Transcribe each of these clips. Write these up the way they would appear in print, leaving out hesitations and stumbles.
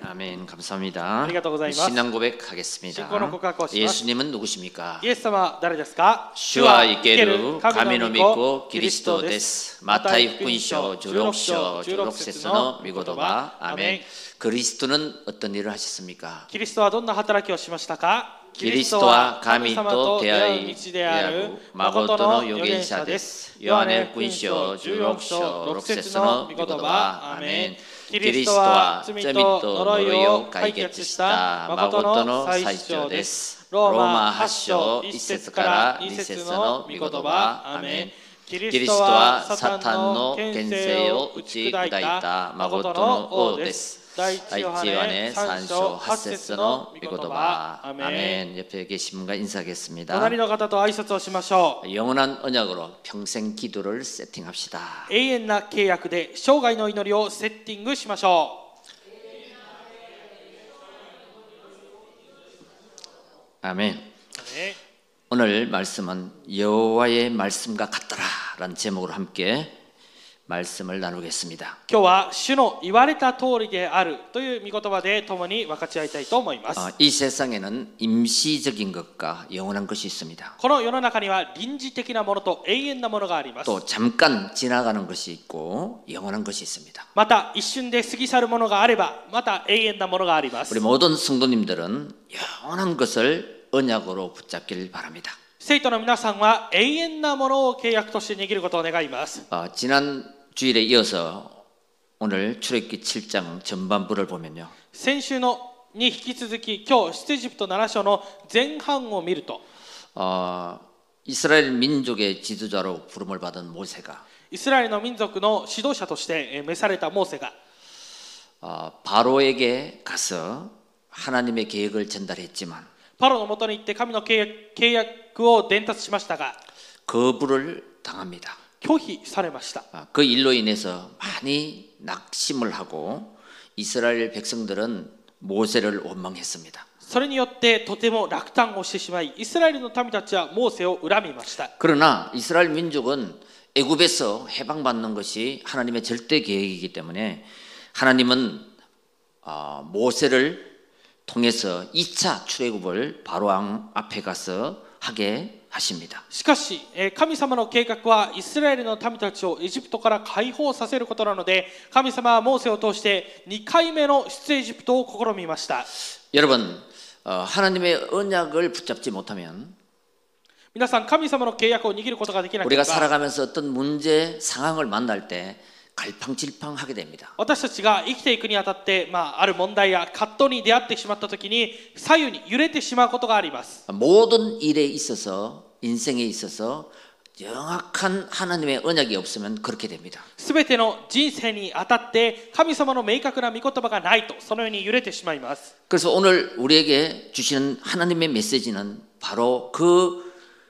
아멘. 감사합니다. ありがとうございます。 신앙 고백하겠습니다. 信仰の告白をします。 예수님은 누구십니까? イエス様は誰ですか？ 주와 이케루 가미노 믿고 그리스도 데스. 마타이福音書 16章 16節の御言葉。 아멘. 그리스도는 어떤 일을 하셨습니까? キリストはどんな働きをしましたか？ キリストは神と出会いである誠の預言者です。ヨハネ福音書16章6節の御言葉。アメン。キリストは罪と呪いを解決した誠の最初です。ローマ8章1節から2節の御言葉。アメン。キリストはサタンの権勢を打ち砕いた誠の王です。 第一ヨハネ3章8節の御言葉。アメン。 옆에 계신 분과 인사하겠습니다. 隣の方と挨拶をしましょう。 영원한 언약으로 평생 기도를 세팅합시다. 永遠な契約で生涯の祈りをセッティングしましょう。 아멘. 오늘 말씀은 여호와의 말씀과 같더라라는 제목으로 함께 말씀을 나누겠습니다. 今日は主の言われた通りであるという御言葉で共に分かち合いたいと思います。 이 세상에는 임시적인 것과 영원한 것이 있습니다. この世の中には臨時的なものと永遠なものがあります。 또 잠깐 지나가는 것이 있고 영원한 것이 있습니다. また一瞬で過ぎ去るものがあれば、また永遠なものがあります。 우리 모든 성도님들은 영원한 것을 언약으로 붙잡기를 바랍니다. 生徒の皆さんは永遠なものを契約として握ることを願います。 지난 주일에 이어서 오늘 출애굽기 7장 전반부를 보면요. 先週のに引き続き今日出エジプト7章の前半を見ると 이스라엘 민족의 지도자로 부름을 받은 모세가 イスラエルの民族の指導者として召されたモーセが 바로에게 가서 하나님의 계획을 전달했지만 パロのもとに行って神の契約を伝達しましたが 거부를 당합니다. 拒否されました。 그 일로 인해서 많이 낙심을 하고 이스라엘 백성들은 모세를 원망했습니다. それによってとても落胆をしてしまい、イスラエルの民たちはモーセを恨みました。 그러나 이스라엘 민족은 애굽에서 해방받는 것이 하나님의 절대 계획이기 때문에 하나님은 모세를 통해서 2차 출애굽을 바로 왕 앞에 가서 하게 하십니다. しかし神様の計画はイスラエルの民たちをエジプトから解放させることなので、神様はモーセを通して2回目の出エジプトを試みました。 여러분, 하나님의 언약을 붙잡지 못하면 皆さん、神様の契約を握ることができなけれ 우리가 ば 살아가면서 어떤 문제 상황을 만날 때 갈팡질팡하게 됩니다. 私たちが生きていくにあたって、ある問題や葛藤に出会ってしまったときに左右に揺れてしまうことがあります。 모든 일에 있어서 인생에 있어서 정확한 하나님의 언약이 없으면 그렇게 됩니다. すべての人生にあたって神様の明確な御言葉がないとそのように揺れてしまいます。 그래서 오늘 우리에게 주시는 하나님의 메시지는 바로 그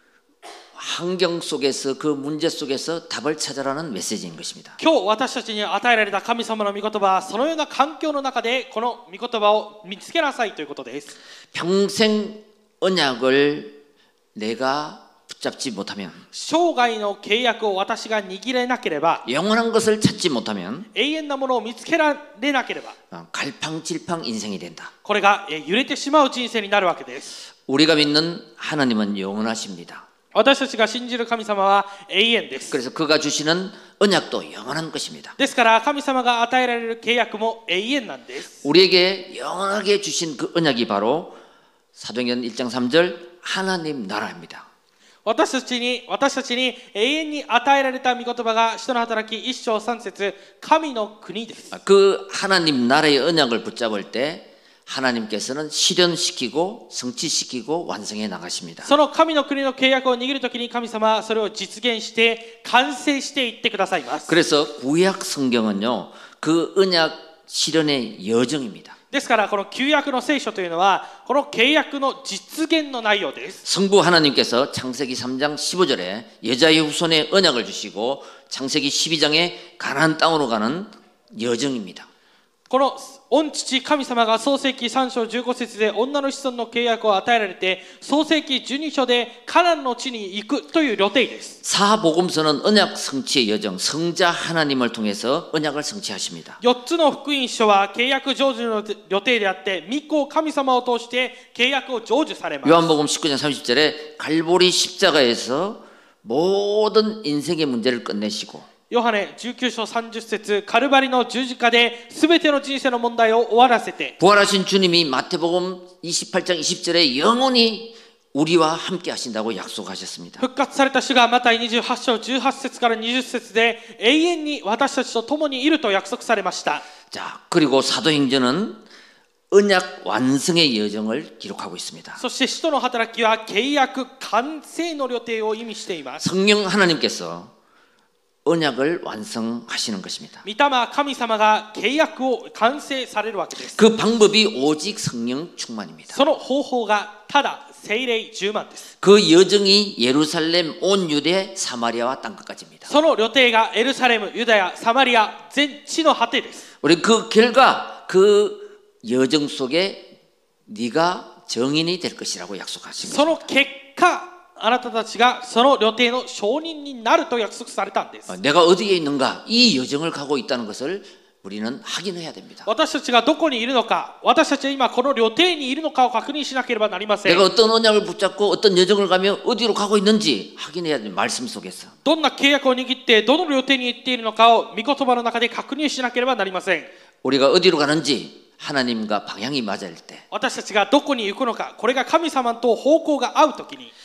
환경 속에서 그 문제 속에서 답을 찾아라는 메시지인 것입니다. 今日私たちに与えられた神様の御言葉はそのような環境の中でこの御言葉を見つけなさいということです。 평생 언약을 내가 붙잡지 못하면 生涯の契約を私が握れなければ 영원한 것을 찾지 못하면 永遠なものを見つけられなければ 갈팡질팡 인생이 된다. これが揺れてしまう人生になるわけです。 우리가 믿는 하나님은 영원하십니다. 私たちが信じる神様は永遠です。 그래서 그가 주시는 언약도 영원한 것입니다. ですから神様が与えられる契約も永遠なんです。 우리에게 영원하게 주신 그 언약이 바로 사도행전 1장 3절 하나님 나라입니다. 私たちに永遠に与えられた御言葉が使徒の働き1章3節神の国です。 그 하나님 나라의 언약을 붙잡을 때 하나님께서는 실현시키고 성취시키고 완성해 나가십니다. その神の国の契約を握るときに神様はそれを実現して完成していってくださいます。 그래서 구약 성경은요 그 언약 실현의 여정입니다. ですからこの旧約の聖書というのはこの契約の実現の内容です。 성부 하나님께서 창세기 3장 15절에 여자의 후손에 언약을 주시고 창세기 12장에 가나안 땅으로 가는 여정입니다. この御父神様が創世記3章15節で女の子孫の契約を与えられて創世記12章でカナンの地に行くという予定です。 사복음서는 언약 성취의 여정, 성자 하나님을 통해서 언약을 성취하십니다. 4つの福音書は契約成就の予定であって御子神様を通して契約を成就されます。 요한복음 19장 30절에 갈보리 십자가에서 모든 인생의 문제를 끝내시고 ヨハネ19章30節カルバリの十字架で全ての人生の問題を終わらせて 부활하신 주님이 마태복음 28장 20절에 영원히 우리와 함께 하신다고 약속하셨습니다. 復活された主がマタイ28章18節から20節で永遠に私たちと共にいると約束されました。 자, 그리고 사도행전은 언약 완성의 여정을 기록하고 있습니다. そして使徒の働きは契約完成の予定を意味しています。 성령 하나님께서 언약을 완성하시는 것입니다. 御霊神様が契約を完成されるわけです。 그 방법이 오직 성령 충만입니다. その方法がただ聖霊充満です。 그 여정이 예루살렘, 온 유대, 사마리아와 땅끝까지입니다. その旅程がエルサレム、ユダヤ、サマリア、全地の果てです。 우리 그 결과 그 여정 속에 네가 정인이 될 것이라고 약속하신 そ 것입니다. の結果あなたたちがその旅程の証人になると約束されたんです。 내가 어디에 있는가 이 여정을 가고 있다는 것을 우리는 확인해야 됩니다. 私たちがどこにいるのか、私たちは今この旅程にいるのかを確認しなければなりません。 내가 어떤 언약을 붙잡고 어떤 여정을 가며 어디로 가고 있는지 확인해야 됩니다. 말씀 속에서. どんな契約を握ってどの旅程に行っているのかを御言葉の中で確認しなければなりません。 우리가 어디로 가는지 하나님과 방향이 맞을 때 私たちがどこに行くのか、これが神様と方向が合うときに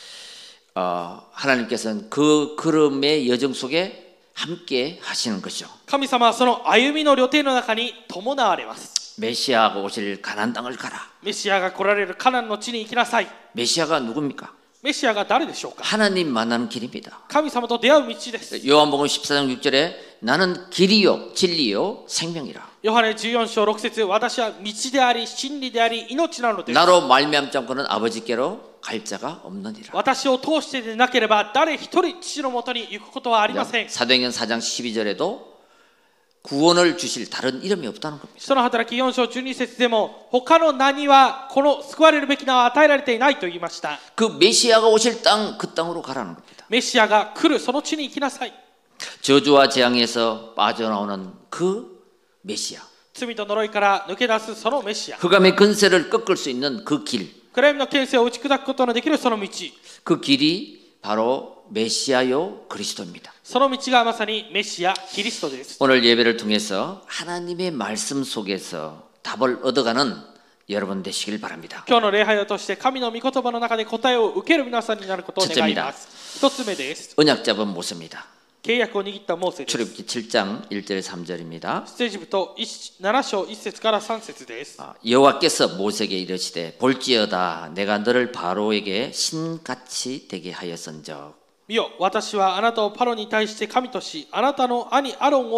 하나님께서는 그 걸음의 여정 속에 함께 하시는 것이죠. 神様はその歩みの旅程の中に伴われます。 메시아가 오실 가나안 땅을 가라. メシアが来られるカナンの地に行きなさい。 메시아가 누굽니까? メシアが誰でしょうか。 하나님 만나는 길입니다. 神様と出会う道です。 요한복음 14장 6절에 나는 길이요 진리요 생명이라. ヨハネ14章6節、私は道であり真理であり命なのです。 나로 말미암지 않고는 아버지께로 갈 자가 없느니라. 私を通してでなければ誰一人父のもとに行くことはありません。 사도행전 4장 12절에도 구원을 주실 다른 이름이 없다는 겁니다. 使徒の働き4章12節でも他の名にはこの救われるべき名は与えられていないと言いました。 그 메시아가 오실 땅 그 땅으로 가라는 겁니다. メシアが来るその地に行きなさい。 저주와 재앙에서 빠져나오는 그 메시아. 罪と呪いから抜け出すそのメシア。 흑암의 근세를 꺾을 수 있는 그 길. 暗闇の権勢を打ち砕くことのできるその道。 그 길이 바로 메시아요 그리스도입니다. その道がまさにメシアキリストです。 오늘 예배를 통해서 하나님의 말씀 속에서 답을 얻어가는 여러분 되시길 바랍니다. 今日の礼拝を通して神の御言葉の中で答えを受ける皆さんになることを願います。一つ目です。 언약 잡은 모세입니다. 契約を握ったモーセです。 출애굽기 7장 1절 3절입니다. 出エジプト7章1節から3節です。 여호와께서 모세에게 이르시되 볼지어다 내가 너를 바로에게 신같이 되게 하였은즉 見よ、私はあなたをパロに対して神とし、あなたの兄アロ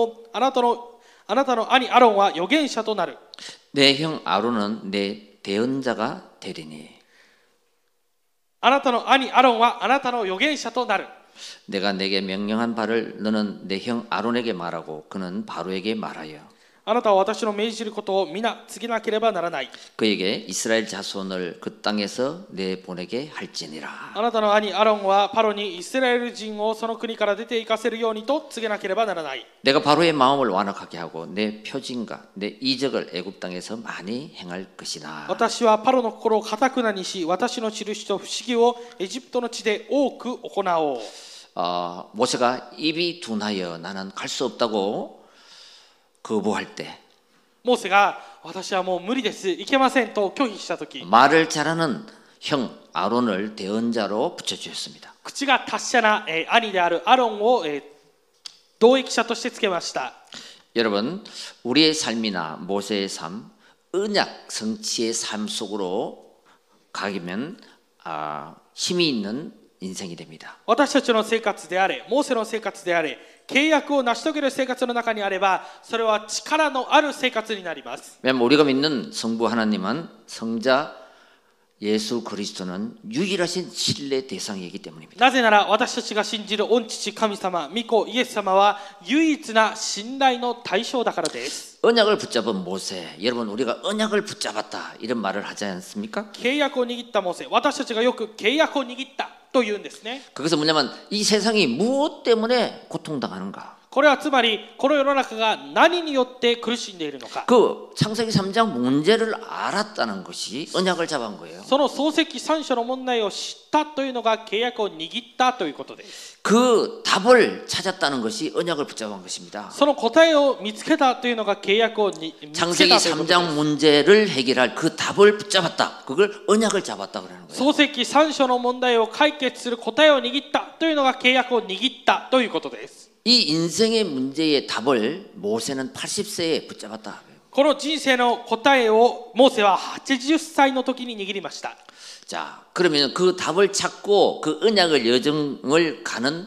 ンは預言者となる。 내 형 아론은 내 대언자가 되리니 あなたの兄アロンはあなたの預言者となる。 내가 내게 명령한 바를 너는 내 형 아론에게 말하고 그는 바로에게 말하여 あなたは私の命じることを皆告げなければならない。 그에게 이스라엘 자손을 그 땅에서 내보내게 할지니라. あなたの兄アロンはパロにイスラエル人をその国から出て行かせるようにと告げなければならない。 내가 바로의 마음을 완악하게 하고 내 표징과 내 이적을 애굽 땅에서 많이 행할 것이다. 私はパロの心を堅くなにし、私の印と不思議をエジプトの地で多く行おう。 모세가 입이 둔하여 나는 갈 수 없다고 거부할 때 モーセが私はもう無理です、いけませんと拒否したとき、 말을 잘하는 형 아론을 대언자로 붙여주셨습니다. 口が達者な兄であるアロンを同益者としてつけました。 여러분, 우리의 삶이나 모세의 삶, 언약 성취의 삶 속으로 가면 힘이 있는 인생이 됩니다. 私たちの生活であれ、モーセの生活であれ、契約を成し遂げる生活の中にあれば、それは力のある生活になります。 왜냐하면 우리가 믿는 성부 하나님은 성자 예수 그리스도는 유일하신 신뢰 대상이기 때문입니다. なぜなら私たちが信じる御父神様、御子イエス様は唯一な信頼の対象だからです。 언약을 붙잡은 모세, 여러분 우리가 언약을 붙잡았다 이런 말을 하지 않습니까? 契約を握ったモーセ、私たちがよく契約を握ったと言うんですね。 그것은 뭐냐면 이 세상이 무엇 때문에 고통당하는가? これはつまりこの世の中が何によって苦しんでいるのか。 그 창세기 3장 문제를 알았다는 것이 언약을 잡은 거예요. その創世記3章の問題を知ったというのが契約を握ったということです。 그 답을 찾았다는 것이 언약을 붙잡은 것입니다. その答えを見つけたというのが契約を見つけたということです。 창세기 3장 문제를 해결할 그 답을 붙잡았다. 그걸 언약을 잡았다 그러는 거예요. 創世記3章の問題を解決する答えを握ったというのが契約を握ったということです。 이 인생의 문제의 답을 모세는 80세에 붙잡았다. この人生の答えをモーセは80歳の時に握りました。 자, 그러면 그 답을 찾고 그 언약을 여정을 가는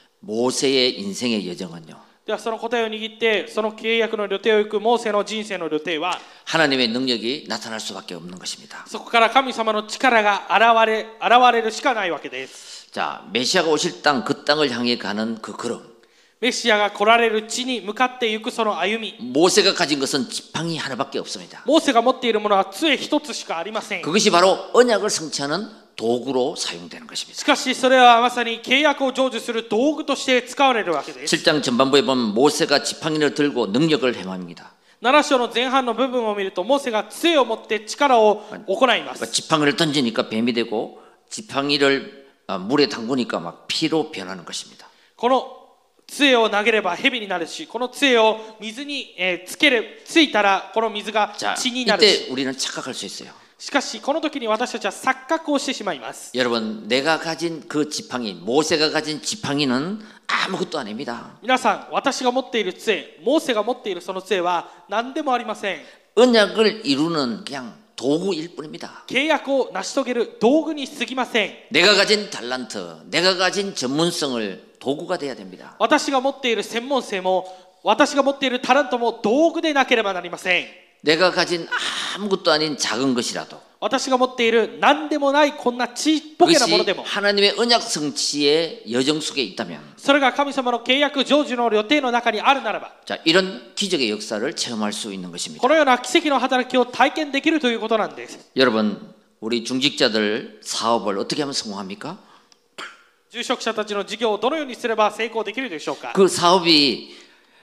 모세의 인생의 여정은요. ではその答えを握ってその契約の旅程を行くモーセの人生の旅程は 하나님의 능력이 나타날 수밖에 없는 것입니다. そこから神様の力が現れるしかないわけです。 자, 메시아가 오실 땅, 그 땅을 향해 가는 그 걸음. メシアが来られる地に向かっていくその歩み。 모세가 가진 것은 지팡이 하나밖에 없습니다. モーセが持っているものは杖一つしかありません。 그것이 바로 언약을 성취하는 도구로 사용되는 것입니다. しかしそれはまさに契約を成就する道具として使われるわけです。 7장 전반부에 보면 모세가 지팡이를 들고 능력을 행합니다. 7章の前半の部分を見るとモーセが杖を持って力を行います。 지팡이를 던지니까 뱀이 되고 지팡이를 물에 담그니까 막 피로 변하는 것입니다. この杖を投げれば蛇になるし、この杖を水についたらこの水が血になるし。 이때 우리는 착각할 수 있어요. しかしこの時に私たちは錯覚をしてしまいます。 여러분, 내가 가진 그 지팡이, 모세가 가진 지팡이는 아무것도 아닙니다. 皆さん、私が持っている杖、モーセが持っているその杖は何でもありません。 언약을 이루는 그냥 도구일 뿐입니다. 契約を成し遂げる道具に過ぎません。 내가 가진 달란트, 내가 가진 전문성을 도구가 돼야 됩니다. 私が持っている専門性も、私が持っているタレントも道具でなければなりません。 내가 가진 아무것도 아닌 작은 것이라도 私が持っている何でもないこんなちっぽけなものでも 하나님의 언약 성취의 여정 속에 있다면 それが神様の契約成就の予定の中にあるならば 자, 이런 기적의 역사를 체험할 수 있는 것입니다. このような奇跡の働きを体験できるということなんです。 여러분, 우리 중직자들 사업을 어떻게 하면 성공합니까? 住職者たちの事業をどのようにすれば成功できるでしょうか。 그 사업이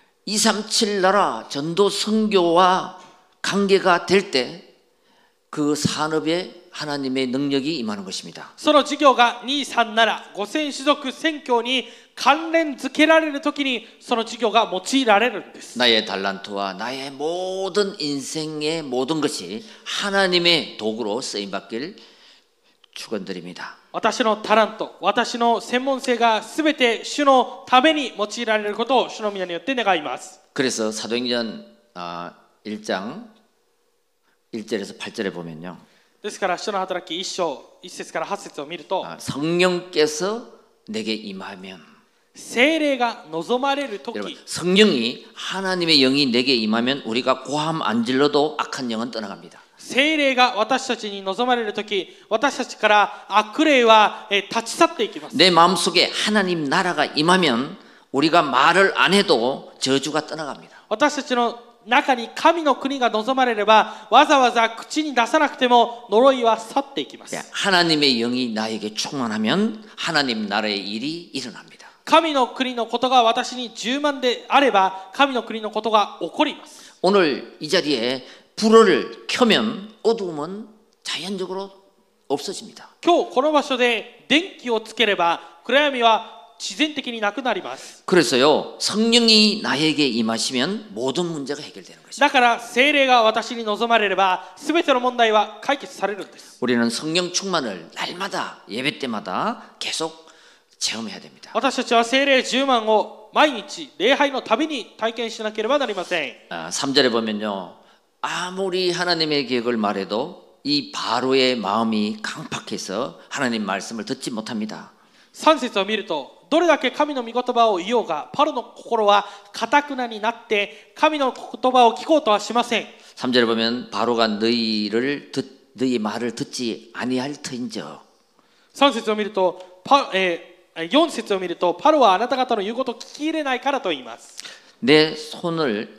237 나라 전도 선교와 관계가 될 때 그 산업에 하나님의 능력이 임하는 것입니다. その事業が237、5000種族宣教に関連づけられるときにその事業が用いられるんです。 나의 달란트와 나의 모든 인생의 모든 것이 하나님의 도구로 쓰임 받길 축원드립니다. 私のタラント、私の専門性がすべて主のために用いられることを主の皆によって願います。 그래서 사도행전 1장 1절에서 8절에 보면요. ですから主の働き1章1節から8節を見ると 성령께서 내게 임하면 聖霊が望まれるとき 성령이 하나님의 영이 내게 임하면 우리가 고함 안 질러도 악한 영은 떠나갑니다. 聖霊が私たちに望まれるとき私たちから悪霊は立ち去っていきます。 내 마음속에 하나님 나라가 임하면 우리가 말을 안 해도 저주가 떠나갑니다. 私たちの中に神の国が望まれればわざわざ口に出さなくても呪いは去っていきます。 하나님의 영이 나에게 충만하면 하나님 나라의 일이 일어납니다. 神の国のことが私に充満であれば神の国のことが起こります。 오늘 이 자리에 불을 켜면 어두움은 자연적으로 없어집니다. 今日この場所で電気をつければ暗闇は自然的になくなります。 그래서요, 성령이 나에게 임하시면 모든 문제가 해결되는 것입니다. だから聖霊が私に望まれれば全ての問題は解決されるんです。 우리는 성령 충만을 날마다 예배 때마다 계속 체험해야 됩니다. 私たちは聖霊10万を毎日礼拝のたびに体験しなければなりません。 3절에 보면요, 아무리 하나님의 계획을 말해도 이 바로의 마음이 강팍해서 하나님 말씀을 듣지 못합니다. 3節を見るとどれだけ神の御言葉を言おうがパロの心は堅くなになって神の言葉を聞こうとはしません。 3절에 보면 바로가 너희를 너희 말을 듣지 아니할 터인저. 3節を見ると4節を見るとパロはあなた方の言うことを聞き入れないからと言います。 내 손을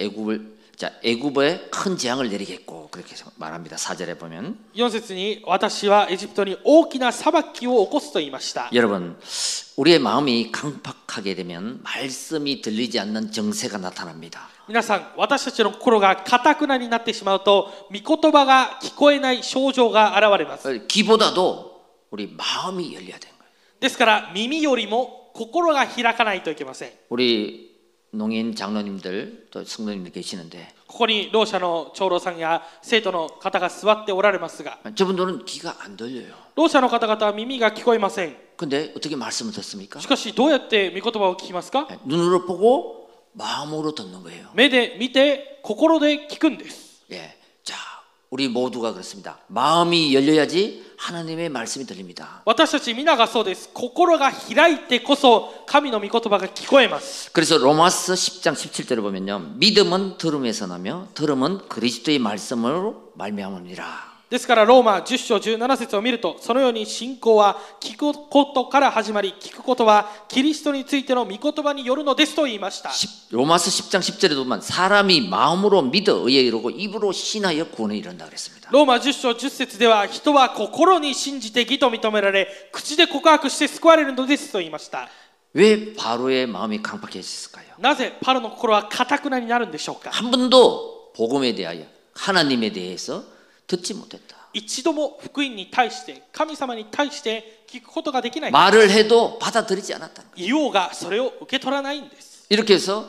애굽에 큰 재앙을 내리겠고 그렇게 말합니다. 4절에 보면 4節に私はエジプトに大きな裁きを起こすと言いました。 여러분 우리의 마음이 강팍하게 되면 말씀이 들리지 않는 정세가 나타납니다. 皆さん、私たちの心が堅くなになってしまうと御言葉が聞こえない症状が現れます。 귀보다도 우리 마음이 열려야 되는 거예요. ですから耳よりも心が開かないといけません。 우리 농인 장로님들 또 성도님들 계시는데 ここにろう者の長老さんや生徒の方が座っておられますが、 저분들은 귀가 안 들려요. ろう者の方々は耳が聞こえません。 근데 어떻게 말씀을 듣습니까? しかしどうやって御言葉を聞きますか？ 눈으로 보고 마음으로 듣는 거예요. 目で見て心で聞くんです。 예, 자, 우리 모두가 그렇습니다. 마음이 열려야지 하나님의 말씀이 들립니다. 私たち皆がそうです。心が開いてこそ神の御言葉が聞こえます。 그래서 로마서 10장 17절을 보면요, 믿음은 들음에서 나며 들음은 그리스도의 말씀으로 말미암으니라. ですからローマ10章17節を見ると、そのように信仰は聞くことから始まり、聞くことはキリストについての御言葉によるのですと言いました。 로마서 10장 10절에 보면 사람이 마음으로 믿어 의에 이르고 입으로 신하여 구원에 이른다 그랬습니다. ローマ10章10節では、人は心に信じて義と認められ、口で告白して救われるのですと言いました。 왜 바로의 마음이 강팍해졌을까요? なぜパロの心は堅くなになるんでしょうか？ 한 번도 복음에 대하여 하나님에 대해서 듣지 못했다. 一度も福音に対して神様に対して聞くことができない。 말을 해도 받아들이지 않았다. 言おうがそれを受け取らないんです。 이렇게 해서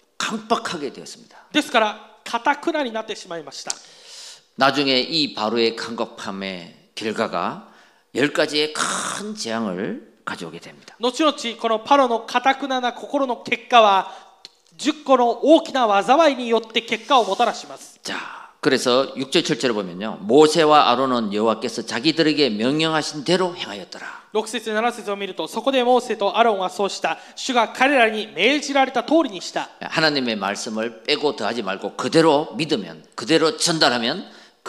강팍하게 되었습니다. ですから堅くなになってしまいました。 나중에 이 바로의 강팍함의 결과가 10가지의 큰 재앙을 가져오게 됩니다. 後々このパロの堅くなな心の結果は10個の大きな災いによって結果をもたらします。 자, 그래서 6절 7절을 보면요, 모세와 아론은 여호와께서 자기들에게 명령하신 대로 행하였더라. 6節7節を見ると、そこでモーセとアロンはそうした。主が彼らに命じられた通りにした。 하나님의 말씀을 빼고 더하지 말고 그대로 믿으면, 그대로 전달하면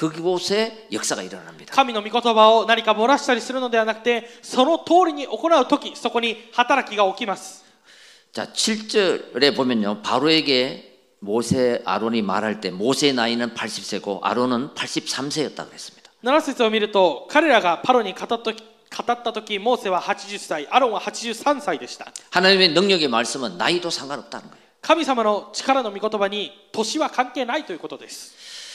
그곳에 역사가 일어납니다. 神の御言葉を何か漏らしたりするのではなくて、その通りに行うとき、そこに働きが起きます。 자, 7절에 보면요, 바로에게 모세 아론이 말할 때 모세의 나이는 80세고 아론은 83세였다 그랬습니다. 7節を見ると、彼らがパロに語ったとき、モーセは80歳、アロンは83歳でした。 하나님의 능력의 말씀은 나이도 상관없다는 거예요. 神様の力の御言葉に年は関係ないということです。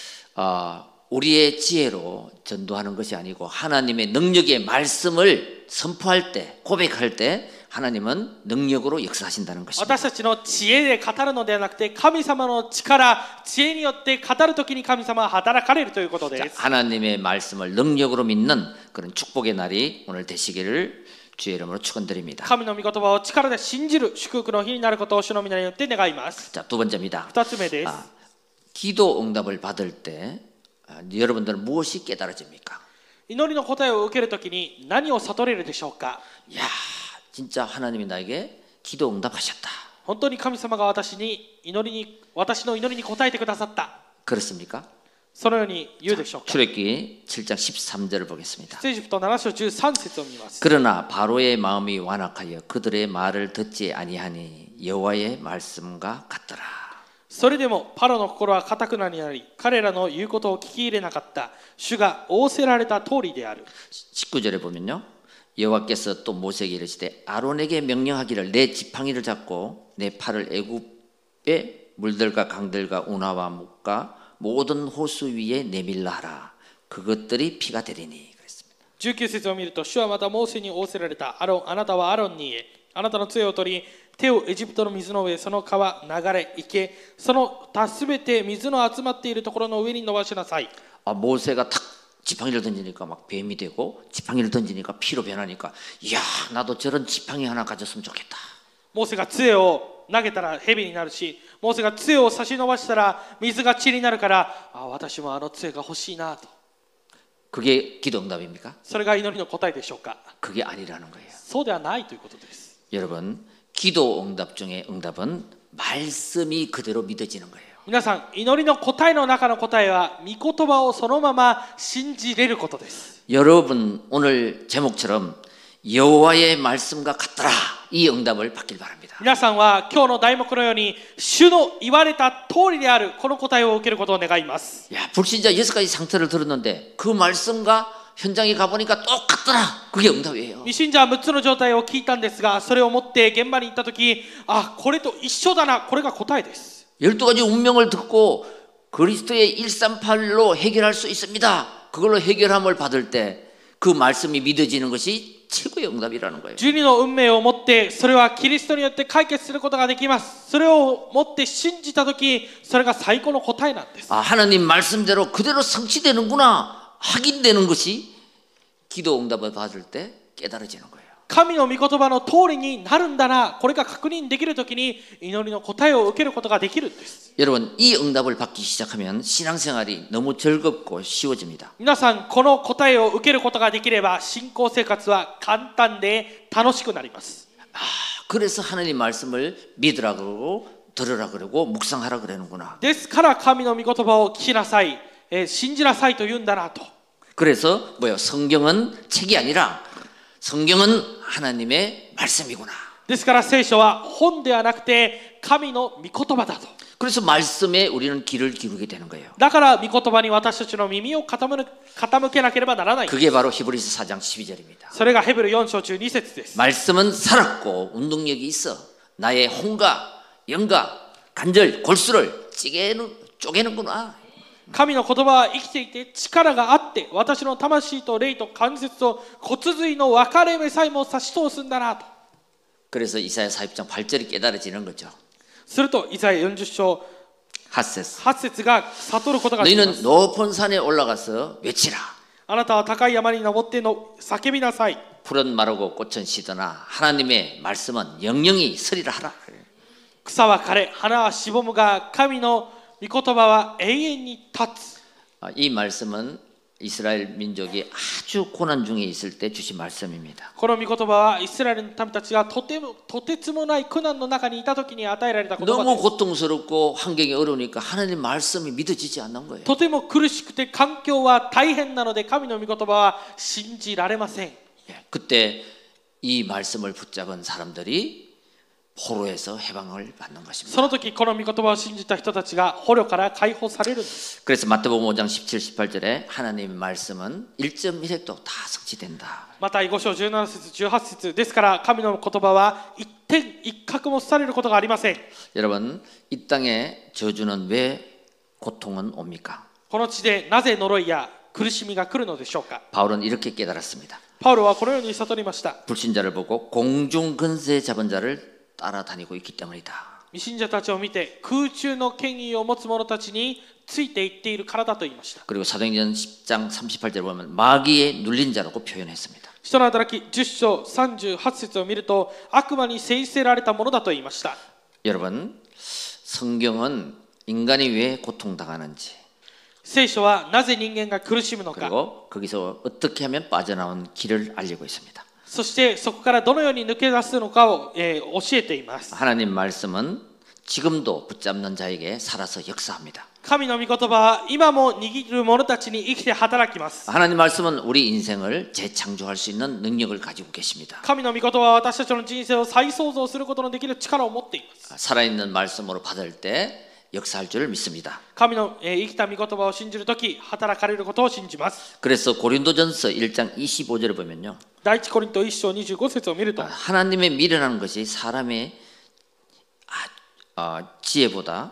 우리의 지혜로 전도하는 것이 아니고 하나님의 능력의 말씀을 선포할 때, 고백할 때 하나님은 능력으로 역사하신다는 것입니다. 私たちの知恵で語るのではなくて、神様の力、知恵によって語るときに神様は働かれるということです。 하나님의 말씀을 능력으로 믿는 그런 축복의 날이 오늘 되시기를 주의 이름으로 축원드립니다. 神の御言葉を力で信じる祝福の日になることを主の皆によって願います。 자, 두 번째입니다. 2つ目です。 기도 응답을 받을 때 여러분들은 무엇이 깨달아집니까? 祈りの答えを受けるときに何を悟れるでしょうか？ 야, 진짜 하나님이 나에게 기도 응답하셨다. 本当に神様が私の祈りに応えてくださった。 그렇습니까? そのように言うでしょうか？ 출애굽기 7장 13절을 보겠습니다. 出エジプト7章13節を見ます。 그러나 바로의 마음이 완악하여 그들의 말을 듣지 아니하니 여호와의 말씀과 같더라. それでもパロの心は堅くなになり、彼らの言うことを聞き入れなかった。主が仰せられた通りである。 19절에 보면요, 여호와께서 또 모세에게 이르시되 아론에게 명령하기를 내 지팡이를 잡고 내 팔을 애굽의 물들과 강들과 운하와 묵과 모든 호수 위에 내밀라 하라. 그것들이 피가 되리니 그랬습니다. 19節を見ると、主はまたモーセに仰せられた。あなたはアロンに言え。あなたの杖を取り、手をエジプトの水の上、その川、流れ、池、その他すべて水の集まっているところの上に伸ばしなさい。 모세가 탁 지팡이를 던지니까 막 뱀이 되고 지팡이를 던지니까 피로 변하니까 이야, 나도 저런 지팡이 하나 가졌으면 좋겠다. モーセが杖を投げたら蛇になるし、モーセが杖を差し伸ばしたら水が血になるから、私もあの杖が欲しいなと。 그게 기도 응답입니까? それが祈りの答えでしょうか？ 그게 아니라는 거예요. そうではないということです。 여러분, 기도 응답 중에 응답은 말씀이 그대로 믿어지는 거예요. 皆さん、祈りの答えの中の答えは御言葉をそのまま信じれることです。 여러분 오늘 제목처럼 여호와의 말씀과 같더라 이 응답을 받길 바랍니다. 皆さんは今日の題目のように主の言われた通りであるこの答えを受けることを願います。 야, 불신자 6가지 상태를 들었는데 그 말씀과 현장에 가보니까 똑같더라. 그게 응답이에요. 未信者は6つの状態を聞いたんですが、それを持って現場に行ったとき、あ、これと一緒だな、これが答えです。 12가지 운명을 듣고 그리스도의 138로 해결할 수 있습니다. 그걸로 해결함을 받을 때 그 말씀이 믿어지는 것이 최고의 응답이라는 거예요. 12の運命を持ってそれはキリストによって解決することができます。それを持って信じたとき、それが最高の答えなんです。 아, 하나님 말씀대로 그대로 성취되는구나 확인되는 것이 기도 응답을 받을 때 깨달아지는 거예요. 神の御言葉の通りになるんだな、これが確認できるときに祈りの答えを受けることができるんです。 여러분 이 응답을 받기 시작하면 신앙생활이 너무 즐겁고 쉬워집니다. 皆さん、この答えを受けることができれば信仰生活は簡単で楽しくなります。 아, 그래서 하나님 말씀을 믿으라 그러고 들으라 그러고 묵상하라 그러는구나. ですから神の御言葉を聞きなさい、信じなさいと言うんだなと。 그래서 뭐요? 성경은 책이 아니라 성경은 하나님의 말씀이구나. ですから聖書は本ではなくて神の御言葉だと。 그래서 말씀에 우리는 귀를 기울이게 되는 거예요. だから御言葉に私たちの耳を傾けなければならない。 그게 바로 히브리서 4장 12절입니다. それがヘブル4章中2節です。 말씀은 살았고 운동력이 있어 나의 혼과 영과 관절 골수를 쪼개는구나. 神の言葉は生きていて力があって私の魂と霊と関節と骨髄の分かれ目さえも差し通すんだなと。 그래서 이사야 40장 8절이 깨달아지는 거죠. するとイザヤ40章 8節が悟ることができます。 너희는 높은 산에 올라가서 외치라. あなたは高い山に登っての叫びなさい。 풀은 마르고 꽃은 시드나 하나님의 말씀은 영영이 서리라 하라. 草は枯れ花はしぼむが神の御言葉は永遠に立つ。 이 말씀은 이스라엘 민족이 아주 고난 중에 있을 때 주신 말씀입니다. この御言葉はイスラエルの民たちがとてつもない苦難の中にいた時に与えられた言葉です。 너무 고통스럽고 환경이 어려우니까 하나님 말씀이 믿어지지 않는 거예요. とても苦しくて環境は大変なので神の御言葉は信じられません。 그때 이 말씀을 붙잡은 사람들이 포로에서 해방을 받는 そ 것입니다. の時この御言葉を信じた人たちが捕虜から解放されるんです。 그래서 마태복음 5장 17, 18절에 하나님의 말씀은 1.1획도 다 성취된다. マタイ5章17節18節ですから神の言葉は一点一角もされることがありません。 여러분 이 땅에 저주는 왜 고통은 옵니까? この地でなぜ呪いや苦しみが来るのでしょうか。 바울은 이렇게 깨달았습니다. パウロはこのように悟りました。 불신자를 보고 공중 근세 잡은 자를 따라다니고 있기 때문이다. 未信者たちを見て空中の権威を持つ者たちについていっているからだと言いました。 그리고 사도행전 10장 38절 보면 마귀에 눌린 자라고 표현했습니다. 人の働き10章38節を見ると悪魔に制せられたものだと言いました。 여러분 성경은 인간이 왜 고통당하는지 聖書はなぜ人間が苦しむのか、 그리고 거기서 어떻게 하면 빠져나온 길을 알리고 있습니다. そしてそこからどのように抜け出すのかを、教えています。 하나님 말씀은 지금도 붙잡는 자에게 살아서 역사합니다. 神の御言葉は今も握る者たちに生きて働きます。 하나님 말씀은 우리 인생을 재창조할 수 있는 능력을 가지고 계십니다. 神の御言葉は私たちの人生を再創造することのできる力を持っています。 살아있는 말씀으로 받을 때 역사할 줄을 믿습니다. 神の、生きた御言葉を信じるとき働かれることを信じます。 그래서 고린도전서 1장 25절을 보면요. 第一コリント1章25節を見ると 하나님의 미련한 것이 사람의 지혜보다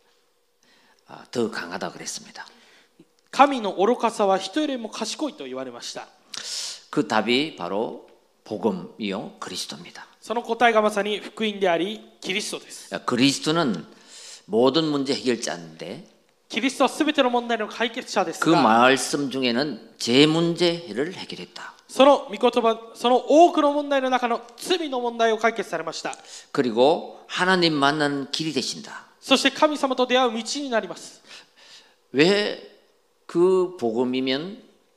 더 강하다 그랬습니다. 神の愚かさは人よりも賢いと言われました。 그 답이 바로 복음이요 그리스도입니다. その答えがまさに福音でありキリストです。 그리스도는 모든 문제 해결자인데 キリストはすべての問題の解決者です 그 が、 말씀 중에는 제 문제를 해결했다. その御言葉、その多くの問題の中の罪の問題を解決されました。 그리고 하나님 만나는 길이 되신다. そして神様と出会う道になります。 왜 그 복음이면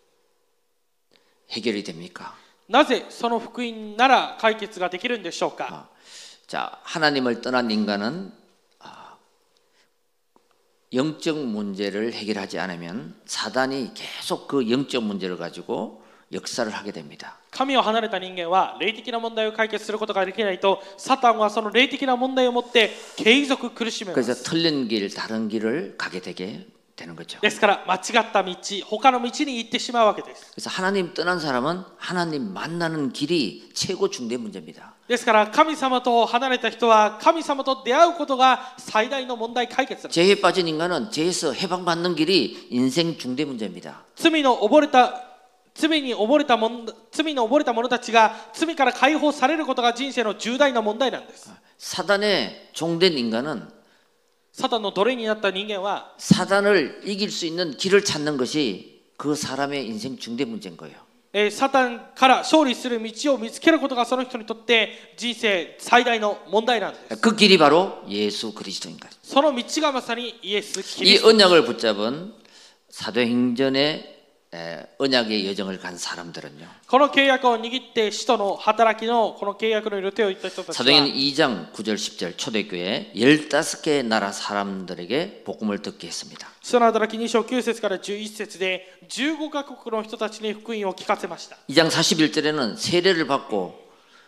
해결이 됩니까? なぜその福音なら解決ができるんでしょうか。 자, 하나님을 떠난 인간은 영적 문제를 해결하지 않으면 사단이 계속 그 영적 문제를 가지고 역사를 하게 됩니다. 神を離れた人間は霊的な問題を解決することができないと、サタンはその霊的な問題を持って継続苦しめます。 그래서 틀린 길, 다른 길을 가게 되게 되는 거죠. ですから間違った道、他の道に行ってしまうわけです。 그래서 하나님 떠난 사람은 하나님 만나는 길이 최고 중대 문제입니다. ですから神様と離れた人は神様と出会うことが最大の問題解決です。 죄에 빠진 인간은 죄에서 해방받는 길이 인생 중대 문제입니다. 罪に溺れた者たちが罪から解放されることが人生の重大な問題なんです。 사단의 종된 인간은 サタンの奴隷になった人間は 사단을 이길 수 있는 길을 찾는 것이 그 사람의 인생 중대 문제인 거예요. サタンから勝利する道を見つけることがその人にとって人生最大の問題なんです。 그 길이 바로 예수 그리스도인 거예요. その道がまさにイエス・キリ 이 スト。 언약을 붙잡은 사도행전의 언약의 여정을 간 사람들은요. この契約を握って使徒の働きのこの契約の予定を言った人たちは 사도행전 2장 9절 10절 초대교회 15개 나라 사람들에게 복음을 듣게 했습니다. 使徒の働き2章9節から11節で15カ国の人たちに福音を聞かせました。 2장 41절에는 세례를 받고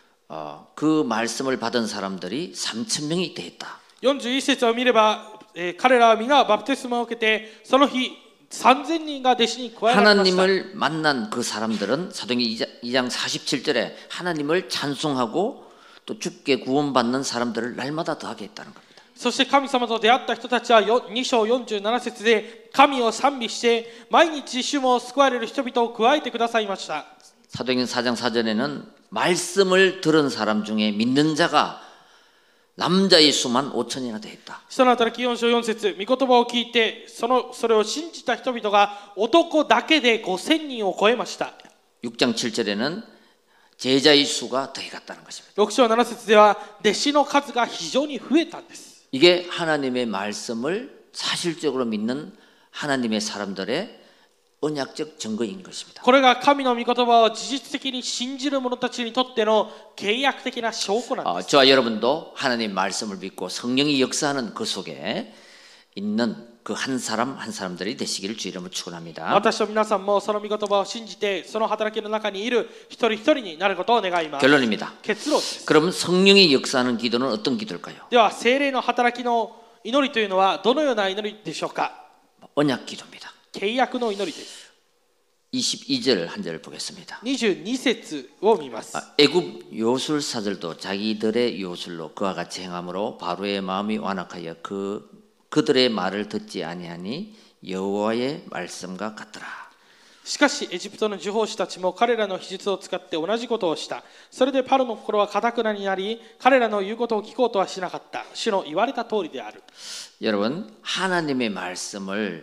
그 말씀을 받은 사람들이 3,000명이 되었다. 41節を見れば、彼らは皆バプテスマを受けてその日3000人が弟子に加えられました。 하나님을 만난 그 사람들은 사도행전 2장 47절에 하나님을 찬송하고 또 주께 구원받는 사람들을 날마다 더하게 했다는 겁니다. そして神様と出会った人たちは2章47節で神を賛美して毎日主も救われる人々を加えてくださいました。 사도행전 4장 4절에는 말씀을 들은 사람 중에 믿는 자가 남자의 수만 5천이나 되었다. 使徒の働き4章4節御言葉を聞いてそれを信じた人々が男だけで5000人を超えました。 6장 7절에는 제자의 수가 더해갔다는 것입니다. 6章7節では弟子の数が非常に増えたんです。 이게 하나님의 말씀을 사실적으로 믿는 하나님의 사람들의 언약적 증거인 것입니다. これが神の御言葉を事実的に信じる者たちにとっての契約的な証拠なんです。 저와 여러분도 하나님 말씀을 믿고 성령이 역사하는 그 속에 있는 그 한 사람 한 사람들이 되시기를 주 이름으로 축원합니다. 私と皆さんもその御言葉を信じてその働きの中にいる一人一人になることを願います。 결론입니다. 結論です。 그럼 성령이 역사하는 기도는 어떤 기도일까요? では聖霊の働きの祈りというのはどのような祈りでしょうか。 언약 기도입니다. 契約の祈りです。 22절 한 절을 보겠습니다. 22節を見ます。 애굽 요술사들도 자기들의 요술로 그와 같이 행함으로 바로의 마음이 완악하여 그들의 말을 듣지 아니하니 여호와의 말씀과 같더라. しかしエジプトの呪法師たちも彼らの秘術を使って同じことをした。それでパロの心は堅くなになり、彼らの言うことを聞こうとはしなかった。主の言われた通りである。 여러분 하나님의 말씀을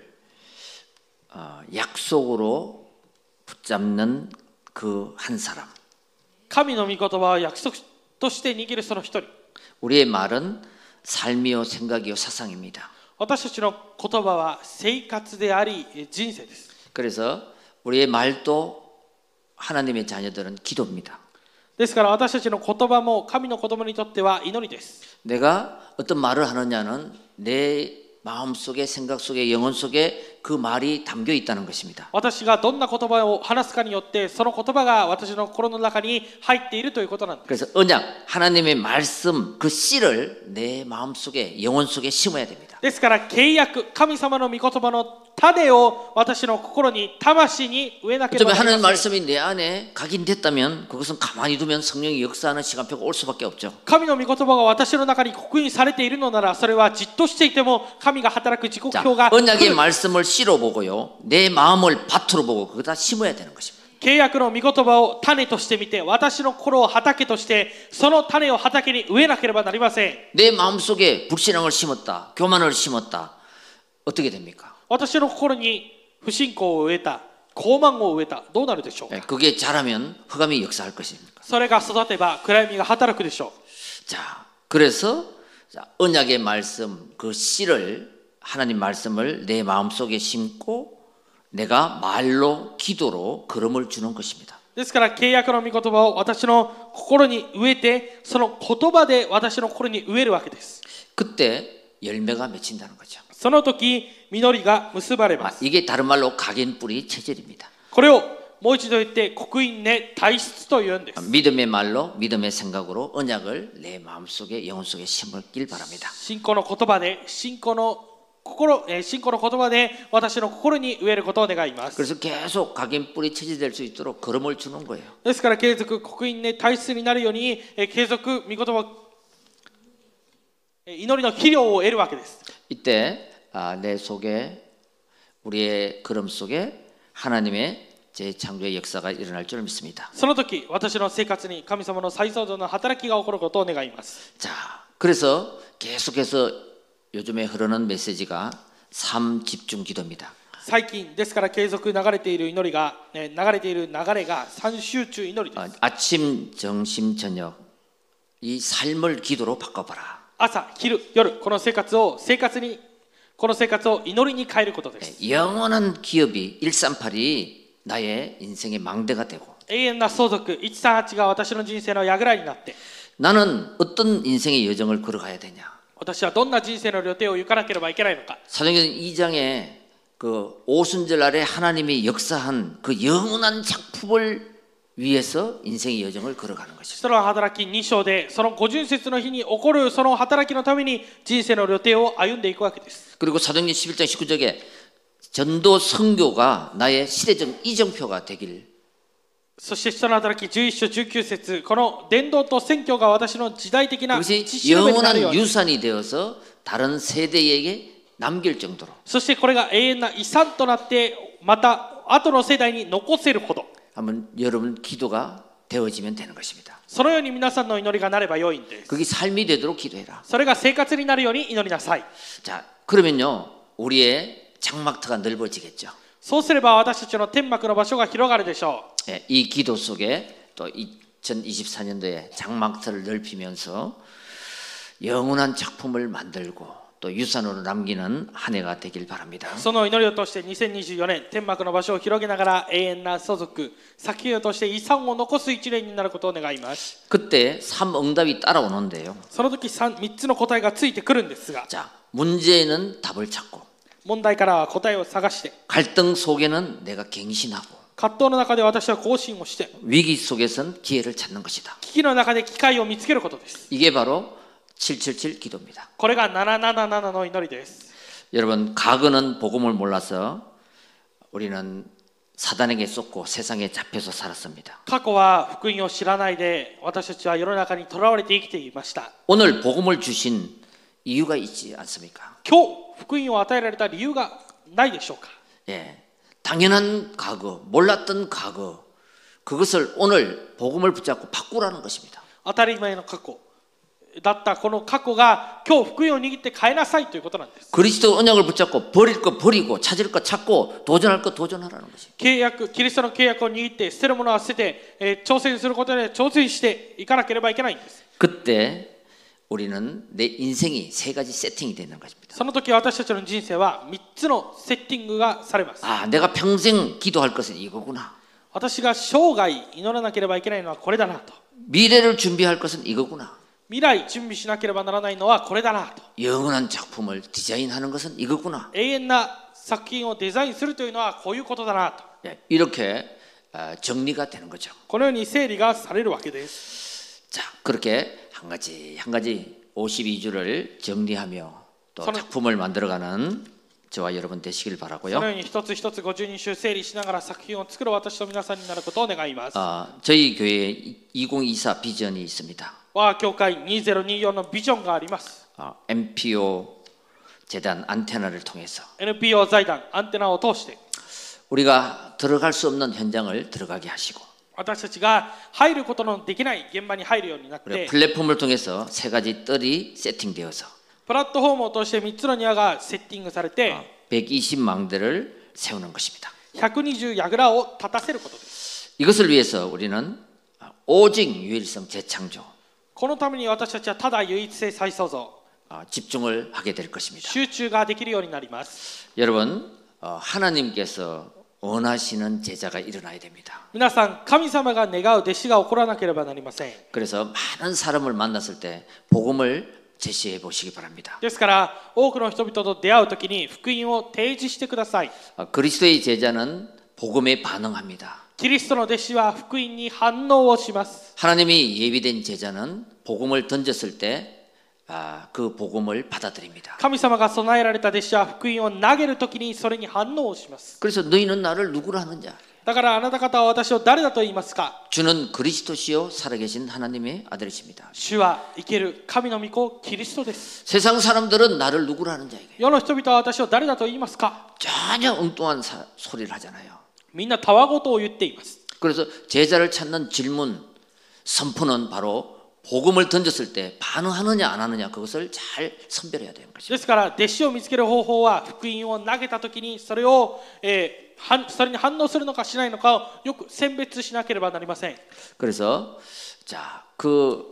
약속으로 붙잡는 그 한 사람. 神の御言葉を約束として握るその一人。 우리의 말은 삶이요 생각이요 사상입니다. 私たちの言葉は生活であり人生です。 그래서 우리의 말도 하나님의 자녀들은 기도입니다. ですから私たちの言葉も神の子供にとっては祈りです。 내가 어떤 말을 하느냐는 내 마음속에 생각 속에 영혼 속에 그 말이 담겨 있다는 것입니다. 私がどんな言葉を話すかによってその言葉が私の心の中に入っているということなんです。 그래서 언약 하나님의 말씀 그 씨를 내 마음 속에 영혼 속에 심어야 됩니다. ですから契約神様の御言葉の種を私の心に魂に植えなければなりません。 하나님 말씀이 내 안에 각인됐다면 그것은 가만히 두면 성령이 역사하는 시간표가 올 수밖에 없죠. 神の御言葉が私の中に刻印されているのならそれはじっとしていても神が働く時刻表が 언약의 말씀을 씨로 보고요. 내 마음을 밭으로 보고 거기다 심어야 되는 것입니다. 契約の御言葉を種として見て私の心を畑としてその種を畑に植えなければなりません。 내 마음속에 불신앙을 심었다. 교만을 심었다. 어떻게 됩니까? 私の心に不信仰を植えた傲慢を植えたどうなるでしょうか。 그게 자라면 흑암이 역사할 것입니까? それが育てば暗闇が働くでしょう。 자, 그래서 언약의 말씀 그 씨를 하나님 말씀을 내 마음속에 심고 내가 말로 기도로 걸음을 주는 것입니다. ですから契約の御言葉を私の心に植えてその言葉で私の心に植えるわけです。 그때 열매가 맺힌다는 거죠. その時実りが結ばれます。 이게 다른 말로 각인 뿌리 체질입니다. これをもう一度言って刻印根体質というんです。 믿음의 말로 믿음의 생각으로 언약을 내 마음속에 영혼 속에 심을길 바랍니다. 信仰の言葉で信仰の言葉で私の心に植えることを願います。 그래서 계속 각인 뿌리 체질될 수 있도록 걸음을 주는 거예요. ですから継続刻印根体質になるように継続御言葉祈りの肥料を得るわけです。 이때 내 속에 우리의 걸음 속에 하나님의 재창조의 역사가 일어날 줄 믿습니다. その時私の生活に神様の再創造の働きが起こることを願います。 자, 그래서 계속해서 요즘에 흐르는 메시지가 삶 집중 기도입니다. 最近ですから継続流れている祈りが流れが三集中祈りです。 아침, 점심, 저녁 이 삶을 기도로 바꿔봐라. 朝、昼、夜この生活を祈りに変えることです。 영원한 기업이 138이 나의 인생의 망대가 되고 永遠な相続138が私の人生の櫓になって 나는 어떤 인생의 여정을 걸어가야 되냐? 私はどんな人生の旅程を行かなければいけないのか。 사도행전 2장에 그 오순절 날에 하나님이 역사한 그 영원한 작품을 위해서 인생의 여정을 걸어가는 것이죠. その働き2章でその五巡節の日に起こるその働きのために人生の旅程を歩んでいくわけです。 그리고 사도행전 11장 19절에 전도 선교가 나의 시대적 이정표가 되길. そして人の働き11章19節この伝道と宣教が私の時代的な 그것이 血しるべになるよう 영원한 に 유산이 되어서 다른 세대에게 남길 정도로. そしてこれが永遠な遺産となってまた後の世代に残せるほど 한번 여러분 기도가 되어지면 되는 것입니다. そのように皆さんの祈りがなれば良いんです。 그게 삶이 되도록 기도해라. それが生活になるように祈りなさい。 자, 그러면요 우리의 장막터가 넓어지겠죠. そうすれば私たちの天幕の場所が広がるでしょう。 예, 이 기도 속에 또 2024년도에 장막터를 넓히면서 영원한 작품을 만들고 또 유산으로 남기는 한 해가 되길 바랍니다. その祈りを通して2024年天幕の場所を広げながら永遠な相続先をとして遺産を残す一年になることを願います。 그때 3응답이 따라오는데요. その時 3つの答えがついてくるんですが 자, 문제에는 답을 찾고 問題からは答えを探して 갈등 속에는 내가 갱신하고 葛藤の中で私は更新をして 위기 속에선 기회를 찾는 것이다. 危機の中で機会を見つけることです。 이게 바로 777 기도입니다. これが777の祈りです。 여러분, 과거는 복음을 몰라서 우리는 사단에게 쏟고 세상에 잡혀서 살았습니다. 過去は福音を知らないで私たちは世の中にとらわれて生きていました。 오늘 복음을 주신 이유가 있지 않습니까? 今日福音を与えられた理由がないでしょうか。 예, 당연한 과거, 몰랐던 과거, 그것을 오늘 복음을 붙잡고 바꾸라는 것입니다. 当たり前の過去だったこの過去が今日福音を握って変えなさいということなんです。 그리스도 언약을 붙잡고 버릴 거 버리고 찾을 거 찾고 도전할 거 도전하라는 것입니다. キリストの契約を握って捨てるものは捨てて、挑戦することで挑戦していかなければいけないんです。 그때 우리는 내 인생이 세 가지 세팅이 되는 것입니다. その時私たちの人生は3つのセッティングがされます。 아, 내가 평생 기도할 것은 이거구나. 私が生涯祈らなければいけないのはこれだなと。 미래를 준비할 것은 이거구나. 未来準備しなければならないのはこれだなと。 영원한 작품을 디자인하는 것은 이거구나. 永遠な作品をデザインするというのはこういうことだなと。 이렇게 정리가 되는 거죠. このように整理がされるわけです。 자, 그렇게 한 가지 52주를 정리하며 또 작품을 만들어가는 저와 여러분 되시길 そ 바라고요. のように一つ一つ52週整理しながら作品を作る私と皆さんになることを願います。 저희 교회에 2024 비전이 있습니다. 我が教会2024のビジョンがあります。 MPO 재단 안테나를 통해서 NPO 財団アンテナを通して 우리가 들어갈 수 없는 현장을 들어가게 하시고 私たちが入ることのできない現場に入るようになって 플랫폼을 통해서 세 가지 뜰이 세팅되어서 プラットフォームを通して3つの庭がセッティングされて 120망대를 세우는 것입니다. 120櫓を立たせることです。 이것을 위해서 우리는 오직 유일성 재창조 このために私たちはただ唯一性再創造 집중을 하게 될 것입니다. 集中ができるようになります。 여러분, 하나님께서 원하시는 제자가 일어나야 됩니다. 皆さん神様が願う弟子が起こらなければなりません。 그래서 많은 사람을 만났을 때 복음을 제시해 보시기 바랍니다. ですから多くの人々と出会うときに福音を提示してください。 그리스도의 제자는 복음에 반응합니다. キリストの弟子は福音に反応をします。 하나님이 예비된 제자는 복음을 던졌을 때 그 복음을 받아들입니다. 神様が備えられた弟子は福音を投げるときにそれに反応をします。 그래서 너희는 나를 누구라 하느냐? だからあなた方は私を誰だと言いますか。 주는 그리스도시요 살아계신 하나님의 아들이십니다. 主は生ける神の御子キリストです。 세상 사람들은 나를 누구라 하느냐 이게 世の人々は私を誰だと言いますか。 전혀 엉뚱한 소리를 하잖아요. みんなたわごとを言っています。 그래서 제자를 찾는 질문 선포는 바로 복음을 던졌을 때 반응하느냐 안 하느냐 그것을 잘 선별해야 되는 것입니다. ですから弟子を見つける方法は福音を投げたときにそれに反応するのかしないのかをよく選別しなければなりません。 그래서 그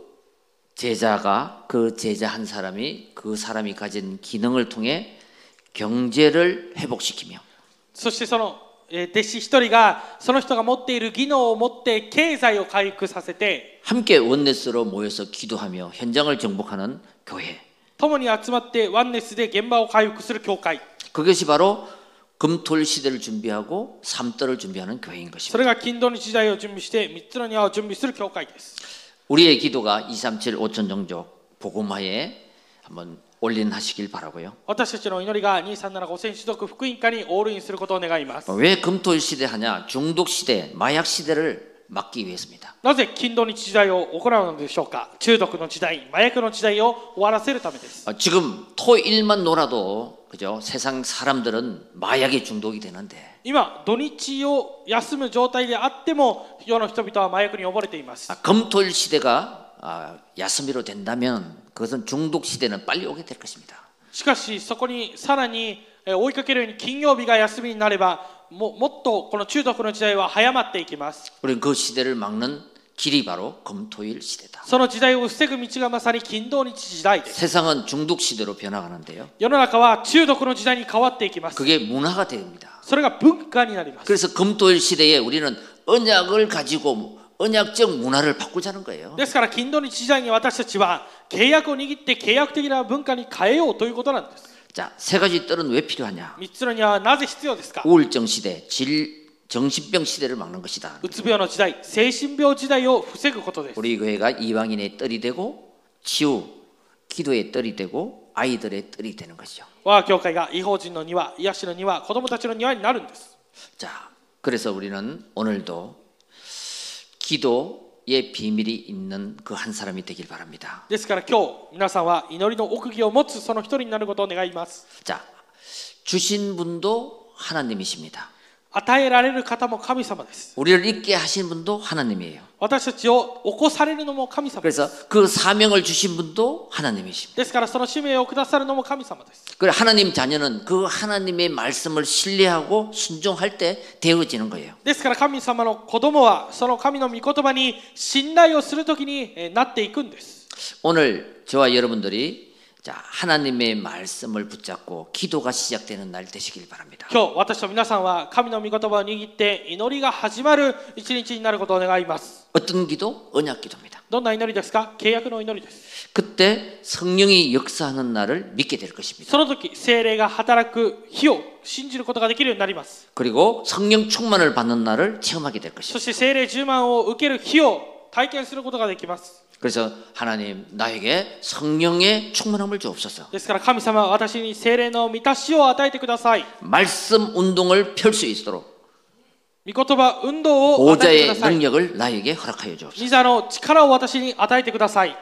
제자가 그 제자 한 사람이 그 사람이 가진 기능을 통해 경제를 회복시키며 そしてその弟子一人がその人が持っている技能を持って経済を回復させて 함께 원네스로 모여서 기도하며 현장을 정복하는 교회. 共に集まってワンネスで現場を回復する教会 그것이 바로 금토일 시대를 준비하고 삼떨을 준비하는 교회인 そ 것입니다. れが金土日大を準備して3つの庭を準備する教会です。 우리의 기도가 237 5천 종족 복음화에 한번 올인하시길 바라고요. 私たちの祈りが237 5000種族福音化にオールインすることを願います。 왜 금토일 시대 하냐? 중독 시대, 마약 시대를 막기 위해서입니다. なぜ金土日時代を行うのでしょうか。中毒の時代、麻薬の時代を終わらせるためです。 지금 토일만 놀아도 그죠? 세상 사람들은 마약에 중독이 되는데 今土日を休む状態であっても世の人々は麻薬に溺れています。 금토일 시대가 야스미로 된다면 그것은 중독 시대는 빨리 오게 될 것입니다. しかしそこにさらに追いかけるように金曜日が休みになればもっとこの中毒の時代は早まっていきます。 우리는 그 시대를 막는 길이 바로 금토일 시대다. その時代を防ぐ道がまさに金土日時代です。 세상은 중독 시대로 변화가는데요. 世の中は中毒の時代に変わっていきます。 그게 문화가 됩니다. それが文化になります。 그래서 금토일 시대에 우리는 언약을 가지고 언약적 문화를 바꾸자는 거예요. ですから金土日時代に私たちは契約を握って契約的な文化に変えようということなんです。 자, 세 가지 뜰은 왜 필요하냐? 3つのにはなぜ必要ですか。 우울증 시대, 정신병 시대를 막는 것이다. うつ病の時代、精神病時代を防ぐことです。 우리 교회가 이방인의 뜰이 되고 치유, 기도의 뜰이 되고 아이들의 뜰이 되는 것이죠. 我が教会が異邦人の庭、癒しの庭、子供たちの庭になるんです。 자, 그래서 우리는 오늘도 기도의 비밀이 있는 그 한 사람이 되길 바랍니다. ですから今日皆さんは祈りの奥義を持つその一人になることを願います。 자, 주신 분도 하나님이십니다. 与えられる方も神様です。 우리를 있게 하신 분도 하나님이에요. 私たちを起こされるのも神様です。 그래서 그 사명을 주신 분도 하나님이십니다. ですからその使命をくださるのも神様です。 그래 하나님 자녀는 그 하나님의 말씀을 신뢰하고 순종할 때 되어지는 거예요. ですから神様の子供はその神の御言葉に信頼をするときになっていくんです。 오늘 저와 여러분들이 자, 하나님의 말씀을 붙잡고 기도가 시작되는 날 되시길 바랍니다. 今日私と皆さんは神の御言葉を握って祈りが始まる一日になることを願います。 어떤 기도? 언약 기도입니다. どんな祈りですか。契約の祈りです。 그때 성령이 역사하는 날을 믿게 될 것입니다. その時聖霊が働く日を信じることができるようになります。 그리고 성령 충만을 받는 날을 체험하게 될 そ 것입니다. して聖霊充満を受ける日を体験することができます。 그래서 하나님 나에게 성령의 충만함을 주옵소서. ですから神様は私に聖霊の満たしを与えてください。 말씀 운동을 펼 수 있도록 御言葉運動を与えてくだ 보좌의 さい。 능력을 나에게 허락하여 주옵소서. 御座の力を私に与えてください。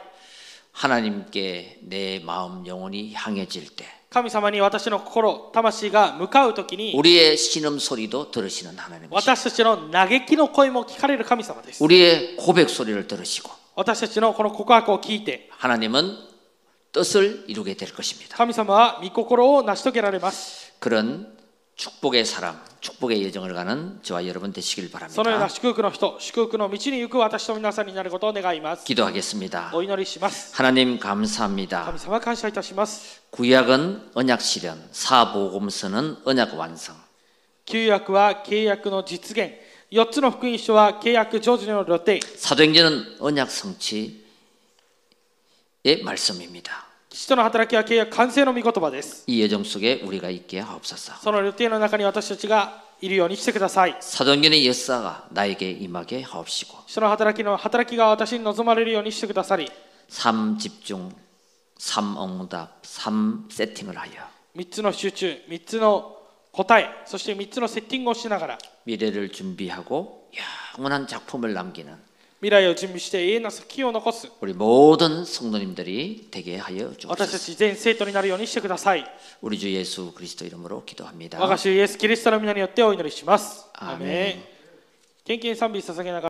하나님께 내 마음 영혼이 향해질 때 神様に私の心、魂が向かうときに 우리의 신음 소리도 들으시는 하나님이시고 私たちの嘆きの声も聞かれる神様です。 우리의 고백 소리를 들으시고 私たちのこの告白を聞いて 하나님은 뜻을 이루게 될 것입니다. 神様は御心を成し遂げられます。 그런 축복의 사람, 축복의 여정을 가는 저와 여러분 되시길 そのような 바랍니다. 祝福の人、祝福の道に行く私と皆さんになることを願います。 기도하겠습니다. お祈りします。 하나님 감사합니다. 神様感謝いたします。 구약은 언약 실현, 사복음서는 언약 완성. 旧約は契約の実現、4つの福音書は契約成就の露呈、 사도행전은 언약 성취의 말씀입니다. 父との働きは契約完成の御言葉です。 이 예정 속에 우리가 있게 하옵소서. その予定の中に私たちがいるようにしてください。 사도행전의 역사가 나에게 임하게 하옵시고. 人の働きが私に望まれるようにしてくださり、 3 집중, 3 응답, 3 세팅을 하여 3つの集中、3つの答え、そして3つのセッティングをしながら 미래를 준비하고 영원한 작품을 남기는 未来を準備して永遠な作品を残す 우리 모든 성도님들이 되게 하여 私た 주옵소서. ち全生徒になるようにしてください。 우리 주 예수 그리스도 이름으로 기도합니다. 我が主イエス・キリストの皆によってお祈りします。 アーメンアーメン。献金賛美捧げながら